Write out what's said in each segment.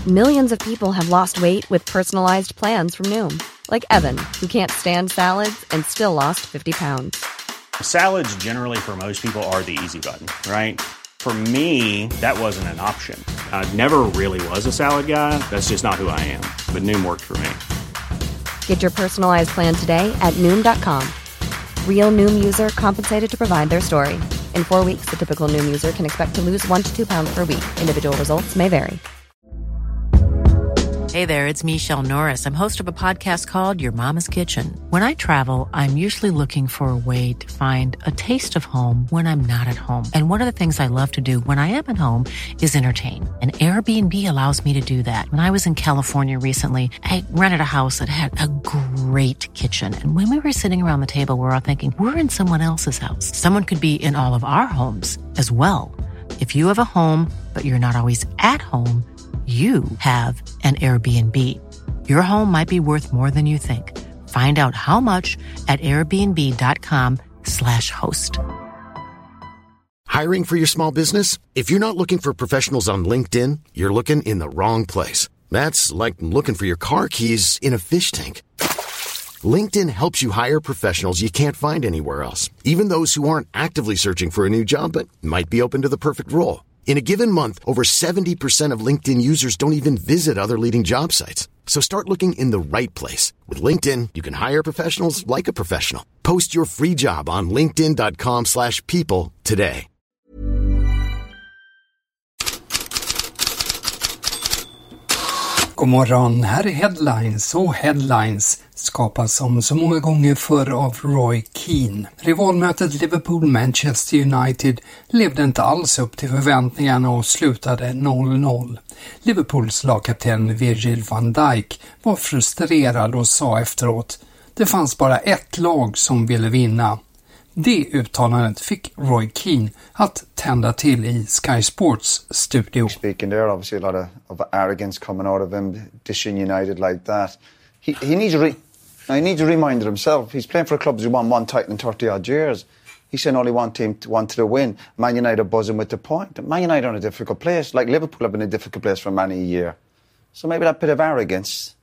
Millions of people have lost weight with personalized plans from Noom. Like Evan, who can't stand salads and still lost 50 pounds. Salads generally for most people are the easy button, right? For me, that wasn't an option. I never really was a salad guy. That's just not who I am. But Noom worked for me. Get your personalized plan today at Noom.com. Real Noom user compensated to provide their story. In 4 weeks, the typical Noom user can expect to lose 1 to 2 pounds per week. Individual results may vary. Hey there, it's Michelle Norris. I'm host of a podcast called Your Mama's Kitchen. When I travel, I'm usually looking for a way to find a taste of home when I'm not at home. And one of the things I love to do when I am at home is entertain. And Airbnb allows me to do that. When I was in California recently, I rented a house that had a great kitchen. And when we were sitting around the table, we were all thinking, we're in someone else's house. Someone could be in all of our homes as well. If you have a home, but you're not always at home, you have an Airbnb. Your home might be worth more than you think. Find out how much at airbnb.com/host. Hiring for your small business? If you're not looking for professionals on LinkedIn, you're looking in the wrong place. That's like looking for your car keys in a fish tank. LinkedIn helps you hire professionals you can't find anywhere else, even those who aren't actively searching for a new job but might be open to the perfect role. In a given month, over 70% of LinkedIn users don't even visit other leading job sites. So start looking in the right place. With LinkedIn, you can hire professionals like a professional. Post your free job on linkedin.com/people today. God morgon, här är Headlines, och Headlines skapas som så många gånger förr av Roy Keane. Rivalmötet Liverpool-Manchester United levde inte alls upp till förväntningarna och slutade 0-0. Liverpools lagkapten Virgil van Dijk var frustrerad och sa efteråt: det fanns bara ett lag som ville vinna. Det uttalandet fick Roy Keane att tända till i Sky Sports studio. Speaking there, obviously a lot of arrogance coming out of him, dishing United like that. He needs to remind himself. He's playing for clubs who won one title in 30 odd years. He said only one team wanted to win. Man United buzzing with the point. Man United are in a difficult place. Like Liverpool have been in a difficult place for many a year. So maybe that bit of arrogance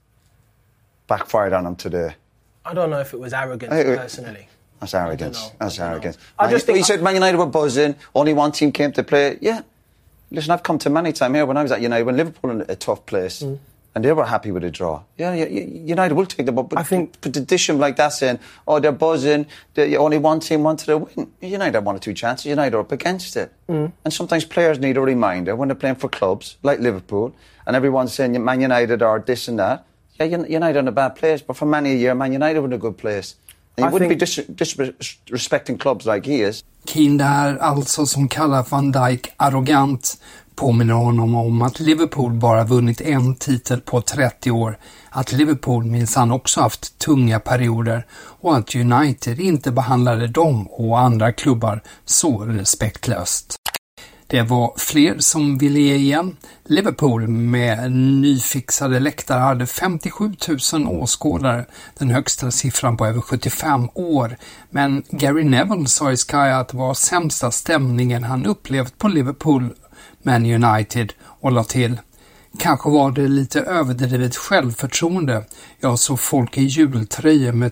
backfired on him today. I don't know if it was arrogance personally. That's arrogance. That's arrogance. I just think he said Man United were buzzing. Only one team came to play. Yeah. Listen, I've come to many times here when I was at United, when Liverpool in a tough place, and they were happy with a draw. Yeah, United will take the ball. But I think to dish them like that, saying, "Oh, they're buzzing. Only one team wanted to win." United had 1 or 2 chances. United are up against it. And sometimes players need a reminder when they're playing for clubs like Liverpool, and everyone's saying Man United are this and that. Yeah, United are in a bad place, but for many a year, Man United were in a good place. And you wouldn't be disrespecting clubs like he is. Keane där alltså, som kallar Van Dijk arrogant, påminner honom om att Liverpool bara vunnit en titel på 30 år, att Liverpool minsann också haft tunga perioder och att United inte behandlade dem och andra klubbar så respektlöst. Det var fler som ville ge igen. Liverpool med nyfixade läktare hade 57 000 åskådare, den högsta siffran på över 75 år. Men Gary Neville sa i Sky att det var sämsta stämningen han upplevt på Liverpool Man United, och la till: kanske var det lite överdrivet självförtroende. Jag såg folk i jultröjor med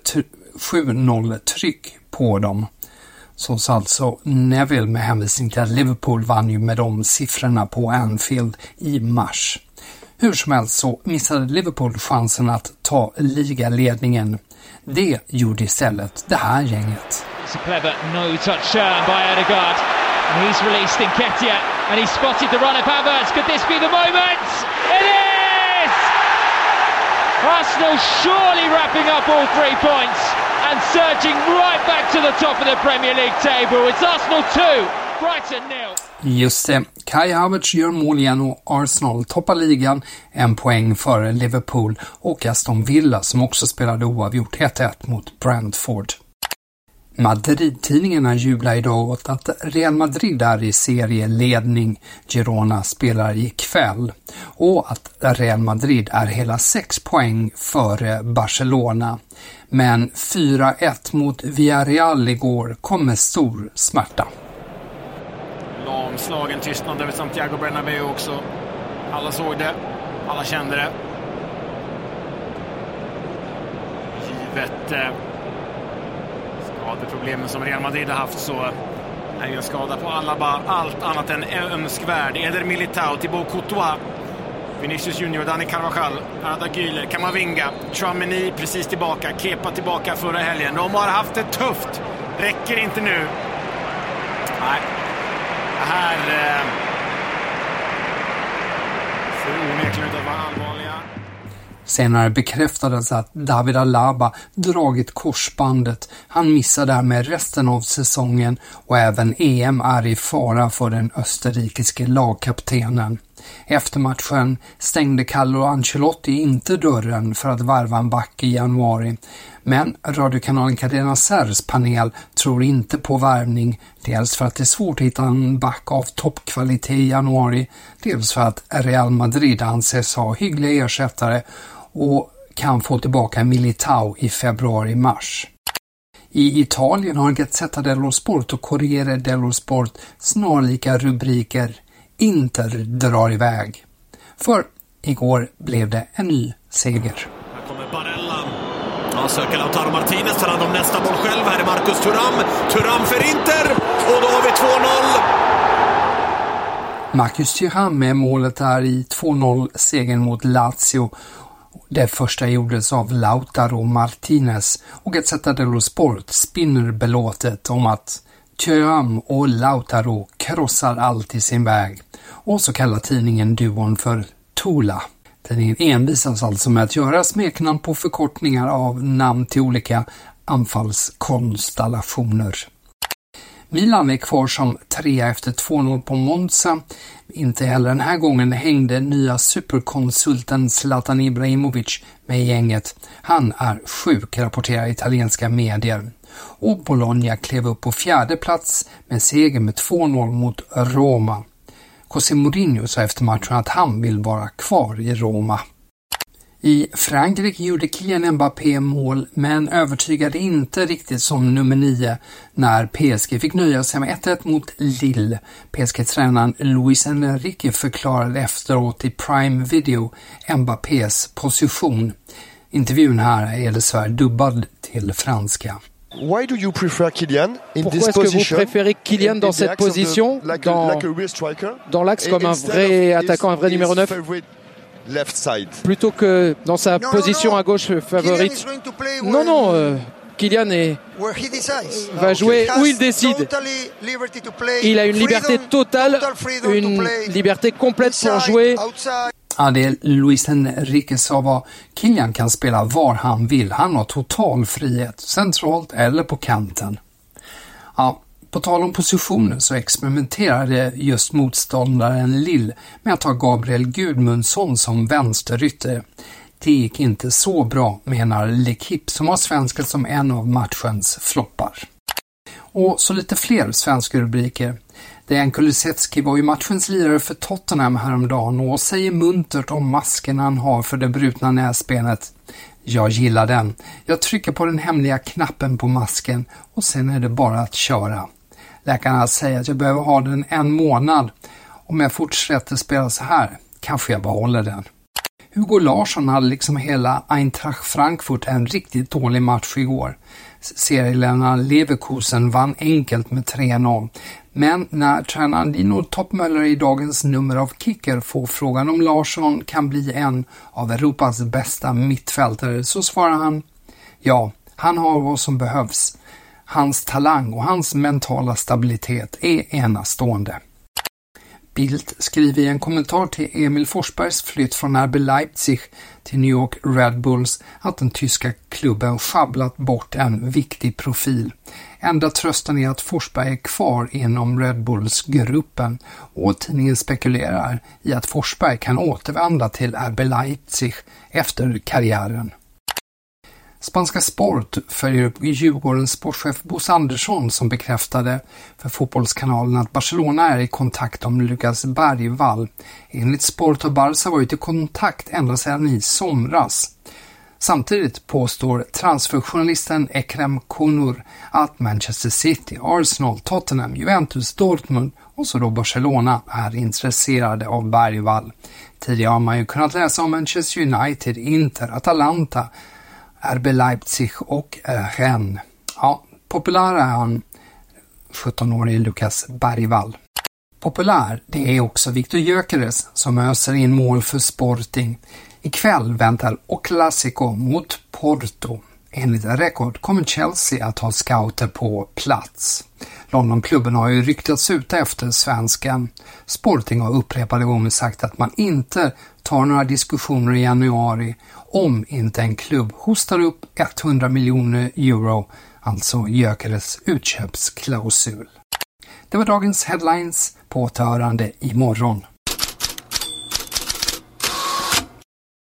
7-0-tryck på dem. Så sa alltså Neville med hänvisning till att Liverpool vann ju med de siffrorna på Anfield i mars. Hur som helst så missade Liverpool chansen att ta ligaledningen. Det gjorde istället det här gänget. It's a clever no-touch turn by Odegaard. And he's released Nketiah and he's spotted the run of Havertz. Could this be the moment? It is! Arsenal surely wrapping up all 3 points and surging right back to the top of the Premier League table. It's Arsenal 2, Brighton 0. Just det, Kai Havertz gör mål igen och Arsenal toppar ligan 1 poäng före Liverpool och Aston Villa som också spelade oavgjort 1-1 mot Brentford. Madrid-tidningarna jublar idag åt att Real Madrid är i serieledning. Girona spelar ikväll. Och att Real Madrid är hela 6 poäng före Barcelona. Men 4-1 mot Villarreal igår kom med stor smärta. Lamslagen tystnad över Santiago Bernabéu också. Alla såg det, alla kände det. Givet skadeproblemen som Real Madrid har haft så är en skada på Alaba allt annat än önskvärd. Eder Militao, Thibaut Courtois, Vinicius Junior, Dani Carvajal, Arda Güler, Kamavinga, Tchouaméni precis tillbaka, Kepa tillbaka förra helgen. De har haft det tufft. Räcker inte nu. Nej. Det här ser onekligen ut att vara allvarliga. Senare bekräftades att David Alaba dragit korsbandet. Han missar därmed resten av säsongen och även EM är i fara för den österrikiske lagkaptenen. Efter matchen stängde Carlo Ancelotti inte dörren för att värva en back i januari. Men radiokanalen Cadena Ser's panel tror inte på värvning, dels för att det är svårt att hitta en back av toppkvalitet i januari, dels för att Real Madrid anses ha hyggliga ersättare och kan få tillbaka Militao i februari-mars. I Italien har Gazzetta dello Sport och Corriere dello Sport snarlika rubriker. Inter drar iväg. För igår blev det en ny seger. Här kommer Barella. Han söker Lautaro Martinez, tar hand om nästa boll själv. Här är Marcus Thuram. Thuram för Inter. Och då har vi 2-0. Marcus Thuram med målet är i 2-0-segern mot Lazio. Det första gjordes av Lautaro Martinez och Gazzetta dello Sport spinner belåtet om att Thuram och Lautaro krossar allt i sin väg. Och så kallar tidningen duon för Tula. Tidningen envisas alltså med att göra smeknamn på förkortningar av namn till olika anfallskonstellationer. Milan är kvar som 3 efter 2-0 på Monza. Inte heller den här gången hängde nya superkonsulten Zlatan Ibrahimovic med gänget. Han är sjuk, rapporterar italienska medier. Och Bologna klev upp på 4:e plats med seger med 2-0 mot Roma. José Mourinho sa efter matchen att han vill vara kvar i Roma. I Frankrike gjorde Kylian Mbappé mål men övertygade inte riktigt som nummer 9 när PSG fick nöja sig med 1-1 mot Lille. PSG-tränaren Luis Enrique förklarade efteråt i Prime Video Mbappés position. Intervjun här är dessvärre dubbad till franska. Why do you prefer Kylian in Pourquoi this est-ce que vous position? préférez Kylian dans cette position, dans l'axe comme un vrai attaquant, un vrai numéro 9, plutôt que dans sa position à gauche favorite? Non, Kylian va jouer où il décide. Il a une liberté totale, une liberté complète pour jouer. Ja, det Luis Enrique sa var Kylian kan spela var han vill. Han har total frihet, centralt eller på kanten. Ja, på tal om positioner så experimenterade just motståndaren Lille med att ha Gabriel Gudmundsson som vänsterytter. Det gick inte så bra, menar L'Equipe som har svensken som en av matchens floppar. Och så lite fler svenska rubriker. Dejan Kulusevski var ju matchens lirare för Tottenham häromdagen och säger muntert om masken han har för det brutna näsbenet. Jag gillar den. Jag trycker på den hemliga knappen på masken och sen är det bara att köra. Läkarna säger att jag behöver ha den 1 månad. Om jag fortsätter spela så här kanske jag behåller den. Hugo Larsson hade liksom hela Eintracht Frankfurt en riktigt dålig match igår. Serielänaren Leverkusen vann enkelt med 3-0. Men när tränaren Dino Toppmöller i dagens nummer av Kicker får frågan om Larsson kan bli en av Europas bästa mittfältare så svarar han: ja, han har vad som behövs. Hans talang och hans mentala stabilitet är enastående. Bildt skriver i en kommentar till Emil Forsbergs flytt från RB Leipzig till New York Red Bulls att den tyska klubben schabblat bort en viktig profil. Enda trösten är att Forsberg är kvar inom Red Bulls-gruppen och tidningen spekulerar i att Forsberg kan återvända till RB Leipzig efter karriären. Spanska Sport följer upp Djurgårdens sportchef Bosse Andersson som bekräftade för Fotbollskanalen att Barcelona är i kontakt om Lucas Bergvall. Enligt Sport har Barca varit i kontakt ända sedan i somras. Samtidigt påstår transferjournalisten Ekrem Kunur att Manchester City, Arsenal, Tottenham, Juventus, Dortmund och så då Barcelona är intresserade av Bergvall. Tidigare har man ju kunnat läsa om Manchester United, Inter, Atalanta, RB Leipzig och Rennes. Ja, populär är han, 17-årig Lucas Bergvall. Populär, det är också Victor Gyökeres som öser in mål för Sporting. Ikväll väntar El Clásico mot Porto. Enligt rekord kommer Chelsea att ha scouter på plats. Londonklubben har ju ryktats ut efter svenskan. Sporting har upprepade gånger sagt att man inte tar några diskussioner i januari om inte en klubb hostar upp 100 miljoner euro, alltså Gyökeres utköpsklausul. Det var dagens headlines, på återhörande imorgon.